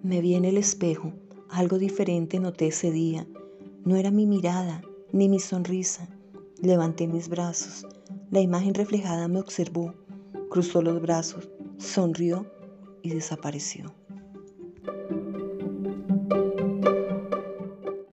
Me vi en el espejo, algo diferente noté ese día. No era mi mirada, ni mi sonrisa. Levanté mis brazos. La imagen reflejada me observó, cruzó los brazos, sonrió y desapareció.